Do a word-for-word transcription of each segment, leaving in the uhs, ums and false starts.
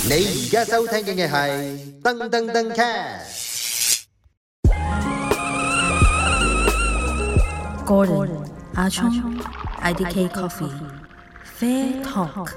你而家收聽嘅係噔噔噔 cast。 Gordon、阿聰、I D K Coffee、Fair Talk。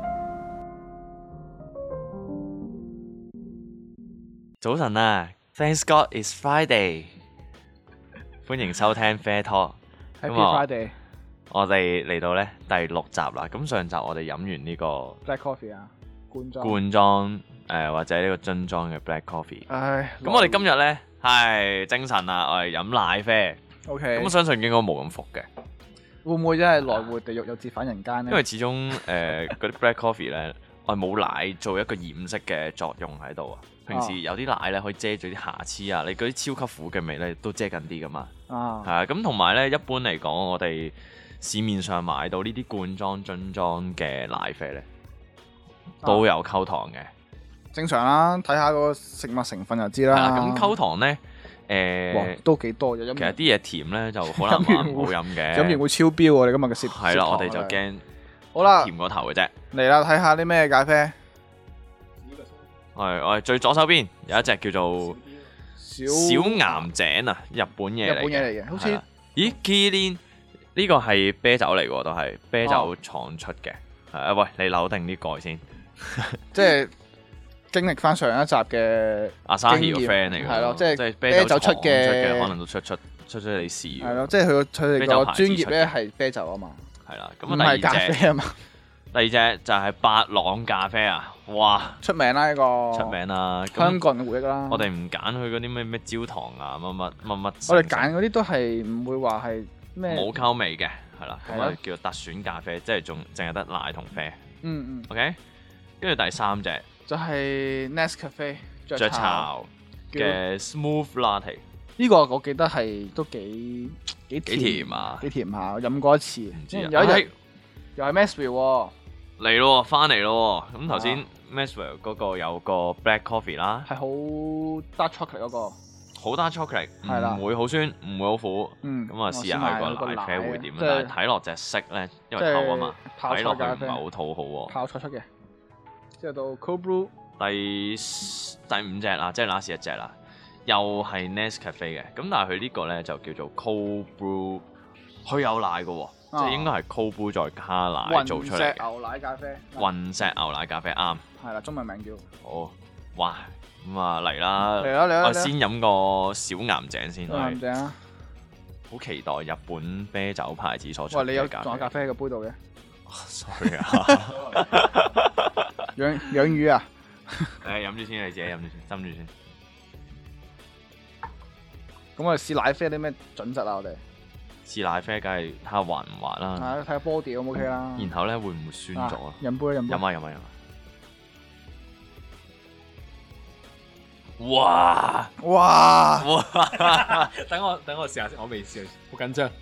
早晨啊 ，Thank God it's Friday， 歡迎收聽 Fair Talk。Happy Friday！ 我哋嚟到咧第六集啦。咁上集我哋飲完呢個 Black Coffee 啊，罐裝罐裝誒或者呢個樽裝嘅 Black Coffee。 唉， 咁我哋今日咧係精神啦，我哋飲奶啡。 OK。 咁我相信應該冇咁服嘅。 會唔會真係來回地獄又折返人間咧？ 因為始終誒嗰啲 Black Coffee 咧，我係冇奶做一個掩飾嘅作用喺度啊。平時有啲奶咧可以遮住啲瑕疵啊，你嗰啲超級苦嘅味咧都遮緊啲噶嘛。 啊。 係啊，咁同埋咧，一般嚟講，我哋市面上買到呢啲罐裝、樽裝嘅奶啡咧，都有溝糖嘅。 正常啦，睇下個食物成分就知啦。 係啦，咁溝糖咧，誒都幾多嘅。 其實啲嘢甜咧就好難話唔好飲嘅。 飲完會超標喎！你今日嘅攝係啦，我哋就驚好啦， 甜過頭嘅啫。 嚟啦，睇下啲咩咖啡。 係我哋最左手邊有一隻叫做小小岩井啊，日本嘢嚟嘅。 日本嘢嚟嘅，好似咦 Kirin 呢個係啤酒嚟喎，都係啤酒廠出嘅。係啊，喂，你扭定啲蓋先。 即係經歷翻上一集嘅阿沙希個 friend 嚟嘅， 係咯，即係啤啤酒出嘅，可能都出出出出你試。 係咯，即係佢個佢哋個專業咧係啤酒啊嘛。 係啦，咁唔係咖啡啊嘛。 第二隻就係八朗咖啡啊！哇， 出名啦呢個， 出名啦， 香港人嘅回憶啦。 我哋唔揀佢嗰啲咩咩焦糖啊，乜乜乜乜。 我哋揀嗰啲都係唔會話係咩冇溝味嘅，係啦，咁啊叫做特選咖啡，即係仲淨係得奶同啡。 嗯嗯。 OK，跟住第三隻就係 Nescafe 雀巢嘅 Smooth Latte。 呢個我記得係都幾幾甜啊， 幾甜下，飲過一次。 唔知有一日又係 Maxwell 喎。 嚟咯，翻嚟咯。咁頭先 Maxwell 嗰個有個 Black Coffee 啦， 係好 dark chocolate 嗰個， 好 dark chocolate， 係啦， 唔會好酸，唔會好苦。 嗯， 咁啊試下佢個奶啡會點啊？但係睇落隻色咧，因為透啊嘛，睇落去唔係好討好喎。 泡菜出嘅，之後到 Cold Brew 第第五隻啦，即係 last 一隻啦，又係 Nescafe 嘅。咁但係佢呢個咧就叫做 Cold Brew， 佢有奶嘅喎。即係應該係 cold brew 再加奶做出嚟嘅。 雲石牛奶咖啡。 雲石牛奶咖啡啱。 係啦，中文名叫。 好，哇！咁啊嚟啦。 嚟啦嚟啦！ 我先飲個小岩井先。 小岩井啊！ 好期待日本啤酒牌子所出嘅咖啡。 喂，你有仲有咖啡喺個杯度嘅 ？Sorry 啊。 養養魚啊！ 誒，飲住先，你自己飲住先，斟住先。 咁我哋試奶啡啲咩準則啊？我哋？ 試奶啡梗係睇下滑唔滑啦， 係睇下 body O 唔 OK 啦。 然後咧會唔會酸咗啊？ 飲杯飲杯。 飲啊飲啊飲啊！哇哇哇！ 等我等我試下先，我未試，好緊張。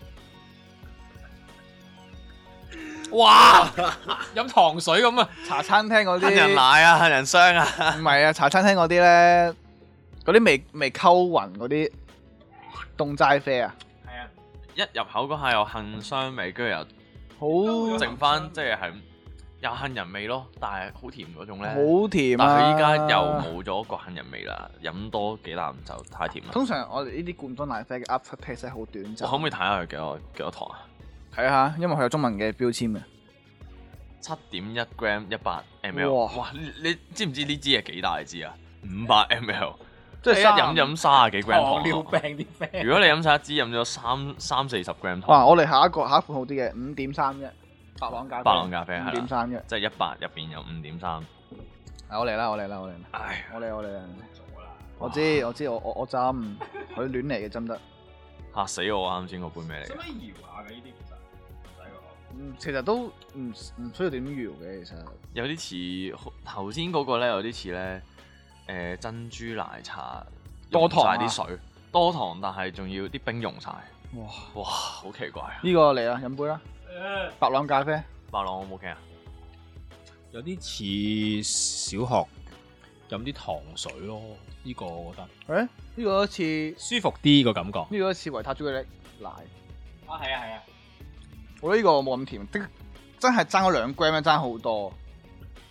哇！飲糖水咁啊！ 茶餐廳嗰啲杏仁奶啊，杏仁霜啊。 唔係啊，茶餐廳嗰啲咧，嗰啲未未溝勻嗰啲。凍齋啡啊， 係啊！一入口嗰下有杏霜味，跟住又好剩翻，即係係有杏仁味咯，但係好甜嗰種咧。 好甜啊！ 但係佢依家又冇咗個杏仁味啦，飲多幾啖就太甜啦。 通常我哋呢啲罐裝奶啡嘅 after taste 好短暫。 我可唔可以睇下佢幾多幾多糖啊？ 睇下，因為佢有中文嘅標籤嘅。 七點一 gram 一百 ml。 哇！ 哇！你你知唔知呢支係幾大支啊？五百 ml。 即係一飲飲三十幾 gram 糖， 尿病啲啡。 如果你飲晒一支，飲咗三三四十 gram 糖。 哇！我哋下一個下一款好啲嘅，五點三一，白朗咖啡。 白朗咖啡係啦， 五點三一， 即係一百入邊有五點三。 我嚟啦！我嚟啦！我嚟啦！ 唉， 我嚟我嚟啦！我知我知我我我斟，佢亂嚟嘅斟得。 嚇死我！啱先嗰杯咩嚟？ 使唔使搖下嘅呢啲其實？唔使喎。 嗯，其實都唔唔需要點搖嘅，其實。 有啲似頭先嗰個咧，有啲似咧。誒珍珠奶茶多糖晒啲水，多糖，但係仲要啲冰溶晒。 哇哇，好奇怪啊！ 呢個嚟啦，飲杯啦，白朗咖啡。 白朗我冇驚啊！ 有啲似小學飲啲糖水咯，呢個我覺得。 誒，呢個似舒服啲個感覺。 呢個似維他朱古力奶。 啊，係啊，係啊。 我覺得呢個冇咁甜，的真係爭咗兩 gram 爭好多。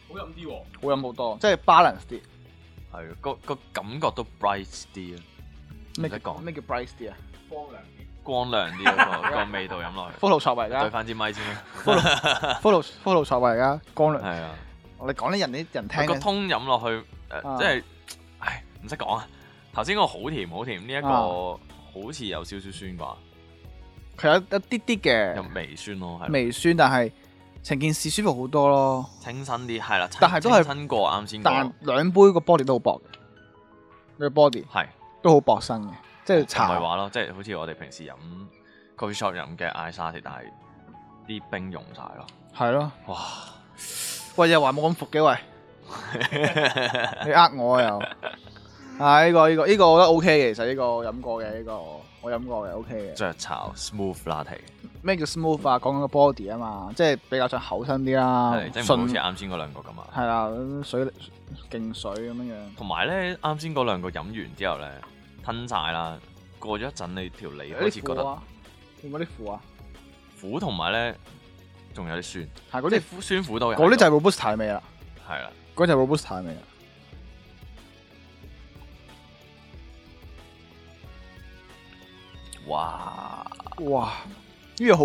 好飲啲喎。 好飲好多，即係 balance 啲。 係個個感覺都 bright 啲啊！ 咩唔使講咩叫 bright 啲啊？ 光亮啲。 光亮啲嗰個個味道飲落去。 Photoshop 嚟對㗎翻支咪先啦。 ，Photo Photoshop 嚟㗎，光亮。 係啊， 我哋講啲人啲人聽嘅。 個通飲落去誒， 啊即係唉唔識講啊！頭先嗰個好甜好甜，呢一個啊好似有少少酸啩， 佢有一啲啲有嘅微酸咯，係微酸，但係成件事舒服好多咯。 清新啲，係啦， 但係都係清新過啱先嗰但個， 兩杯個 body 都好薄嘅，個 body 係都好薄身嘅，即係唔係茶。 話咯，即係好似我哋平時飲 coffee shop 飲嘅 ice latte，但係啲冰溶晒咯， 係咯。 哇！ 喂，又話冇咁服嘅喂，你呃我啊又。啊！呢個呢個呢個我覺得 OK 嘅，其實呢個我飲過嘅呢個我飲過嘅 OK 嘅。 雀巢 smooth latte， 咩叫 smooth 啊？講緊個 body 啊嘛，即係比較上厚身啲啦， 係即係唔好好似順啱先嗰兩個咁啊。 係啦，水勁水咁樣樣。 同埋咧，啱先嗰兩個飲完之後咧，吞晒啦，過咗一陣，你條脷開始覺得會唔會啲苦啊？ 苦，同埋咧仲有啲酸， 係嗰啲即係苦酸苦都有。 嗰啲就係 robusta 味啦， 係啦， 嗰就係 robusta 味啦。 哇！ 哇！呢個好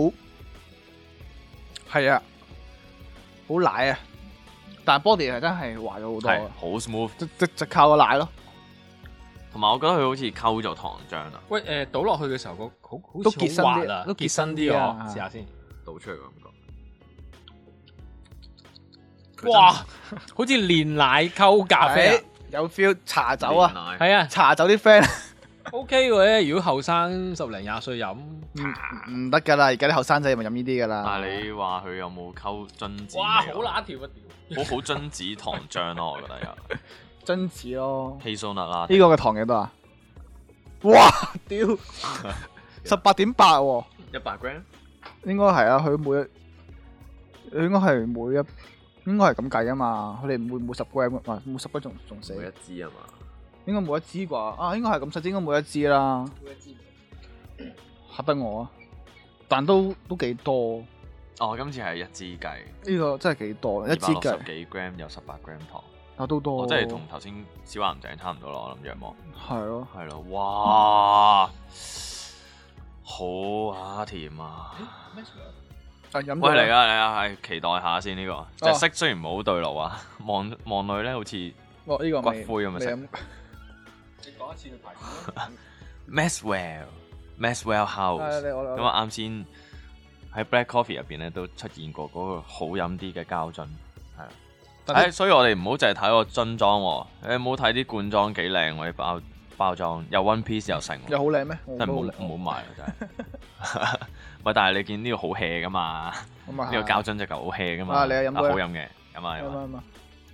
係啊，好奶啊，但係 body 係真係滑咗好多啊， 係好 smooth， 即即就靠個奶咯， 同埋我覺得佢好似溝咗糖漿啊， 喂誒，倒落去嘅時候個好好都結身啲似好滑啊， 都結身結身啲啲啊啊，試下先。 倒出嚟嘅感覺。 哇！好似煉奶溝咖啡啊係有 feel 茶酒啊， 啊， 係啊茶酒啲 friend ，OK 嘅。如果後生十零廿歲飲， 唔唔得㗎啦，而家啲後生仔咪飲呢啲㗎啦。 但係你話佢有冇溝榛子味啊？ 哇！好乸條啊條！ 好好榛子糖漿咯，我覺得有榛子咯， hazelnut 啦， 呢個嘅糖幾多啊？哇！屌，十八點八喎， 一百 gram， 應該係啊，佢每一，應該係每一，應該係咁計啊嘛，佢哋每每十 gram 啊，每十 gram 仲仲死， 每一支啊嘛， 應該每一支啩，啊應該係咁細，應該每一支啦，嚇得我啊，但都都幾多， 哦，今次係一支計， 呢個真係幾多，一二支計百六十幾 gram 有十八 gram 糖， 啊都多， 哦，即係同頭先小岩井差唔多咯，我諗仰望。 係咯， 係咯，哇，好啊甜啊！ 啊飲喂，嚟咗啊嚟啊，係期待下先呢個，隻色雖然唔係好對路啊，望望落去咧好似哦呢個骨未灰咁嘅色。 未飲你講一次佢牌子 Maxwell Maxwell 係 House 你我我咁啊，啱先喺 Black Coffee 入邊咧都出現過嗰個好飲啲嘅膠樽，係啦。 但係誒，所以我哋唔好淨係睇個樽裝喎，你唔好睇啲罐裝幾靚喎，啲包包裝又 One Piece 又成喎， 又好靚咩？我真係唔覺得好唔好買啊！真係。喂，但係你見呢個好 hea 噶嘛？ 咁啊呢個膠樽隻嚿好 hea 噶嘛？ 啊你飲杯啊好飲嘅，飲啊飲啊！ 啱啱啊！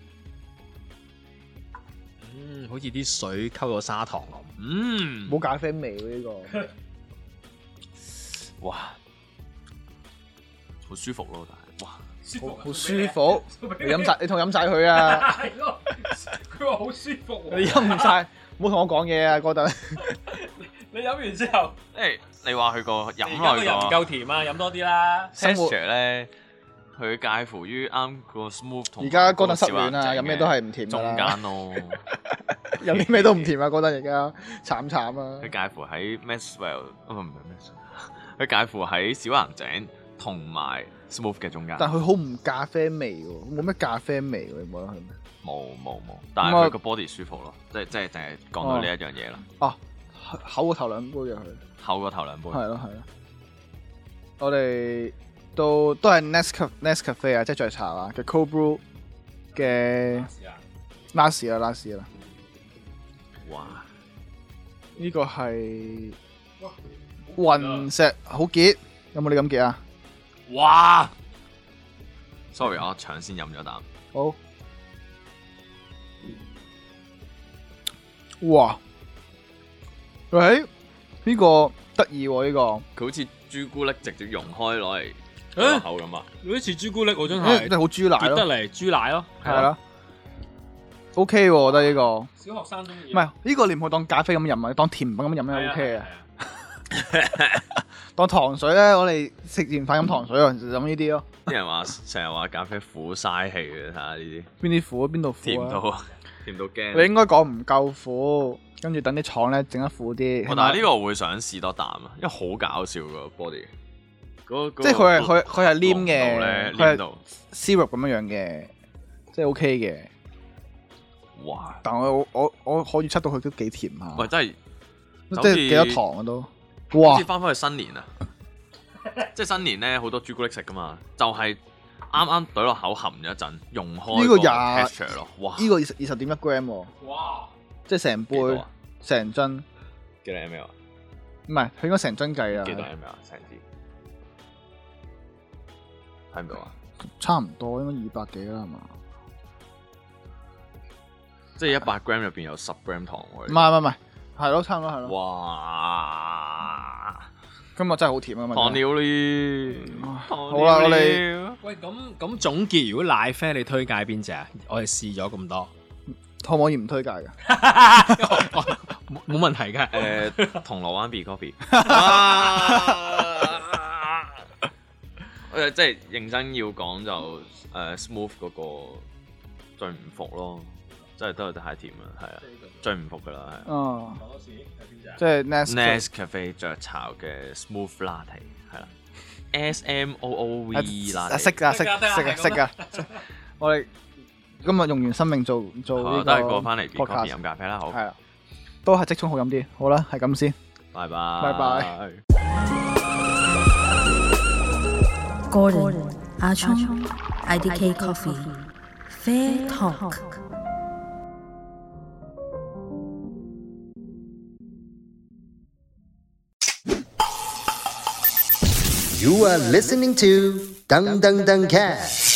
嗯，好似啲水溝咗砂糖咁。 嗯， 冇咖啡味喎呢個。 哇，好舒服咯，但係哇， 好好舒服，你飲晒，你同我飲晒佢啊！ 係咯，佢話好舒服你喎。 飲唔晒，唔好同我講嘢啊，哥頓。 你飲完之後， 誒，你話佢個飲而家個人唔落個夠甜啊，飲多啲啦。 生活 texture 咧，佢介乎於啱個 smooth 同而家哥頓失嗰個小戀啊， 眼睛飲咩都係唔甜㗎中啦。 間咯， 飲啲咩都唔甜啊，哥頓而家慘慘啊！ 佢介乎喺 Maxwell，唔係唔係 Maxwell，佢介乎喺小岩井同埋 smooth 嘅中間。 但係佢好唔咖啡味喎，冇咩咖啡味喎，你冇得佢咩？ 冇冇冇，但係佢個 body 舒服咯，即係即係淨係講到呢一樣嘢啦。 哦，厚過頭兩杯嘅佢。 厚過頭兩杯。 係咯係咯，我哋都都係 Nescafe Nescafe 啊，即係雀巢啊嘅 Cold Brew 嘅 last 啦 last 啦， 哇！ 呢個係雲石好傑，有冇你咁傑啊？ 哇！sorry，我搶先飲咗啖。 好，哇！喂，呢個得意喎呢個。 佢好似朱古力直接溶開攞嚟落口咁啊！ 有啲似朱古力喎，真嗯係真係好豬奶結得咯， 嚟豬奶咯， 係啦，OK 喎，我覺得呢個。 小學生中意。 唔係呢個你唔好當咖啡咁飲啊，你當甜品咁飲咧 OK 啊。 當糖水咧，我哋食完飯飲糖水啊，就飲呢啲咯。 啲人話成日話咖啡苦嘥氣嘅，睇下呢啲邊啲苦啊？邊度苦甜到啊？ 甜到驚。 你應該講唔夠苦，跟住等啲廠咧整得苦啲。 哦但係呢個我會想試多啖啊，因為好搞笑個 body。 即係佢係佢佢係黏嘅， 佢佢係 syrup 咁樣樣嘅，即係 OK 嘅。 哇！ 但我我我可以測到佢都幾甜下。 喂，真係即係幾多糖啊都。哇！ 好似翻返去新年啊！即係新年咧，好多朱古力食噶嘛，就係啱啱懟落口含咗一陣，溶開呢個廿 texture 咯。哇！ 呢個二十二十點一 gram 喎。哇！即係成杯成樽。 幾多 ml 啊？ 唔係，佢應該成樽計啊。 幾多 ml 啊？成支睇唔到啊？ 差唔多，應該二百幾啦，係嘛？ 即係一百 gram 入邊有十 gram 糖喎。 唔係唔係唔係，係咯，差唔多係咯。 哇！ 今日真係好甜啊嘛！ 糖尿呢？ 好啦，我哋喂，咁咁總結，如果奶啡你推介邊隻啊？我哋試咗咁多， 可唔可以唔推介㗎？ 冇冇問題㗎。 誒，銅鑼灣 B Coffee。誒，即係認真要講就誒 smooth 嗰個最唔服咯，即係都係太甜啦，係啊，最唔服噶啦，係。 嗯。即係 Nescafe 雀巢嘅 smooth latte 係啦 ，S M O O V latte。 識㗎，識識㗎，識㗎。我哋今日用完生命做做呢個， 都係過翻嚟 B Coffee 飲咖啡啦，好。 係啦，都係即沖好飲啲。好啦，係咁先。 拜拜。 拜拜。 Gordon 阿聰 I D K Coffee Fair Talk。 You are listening to Dang Dang Dang Cat.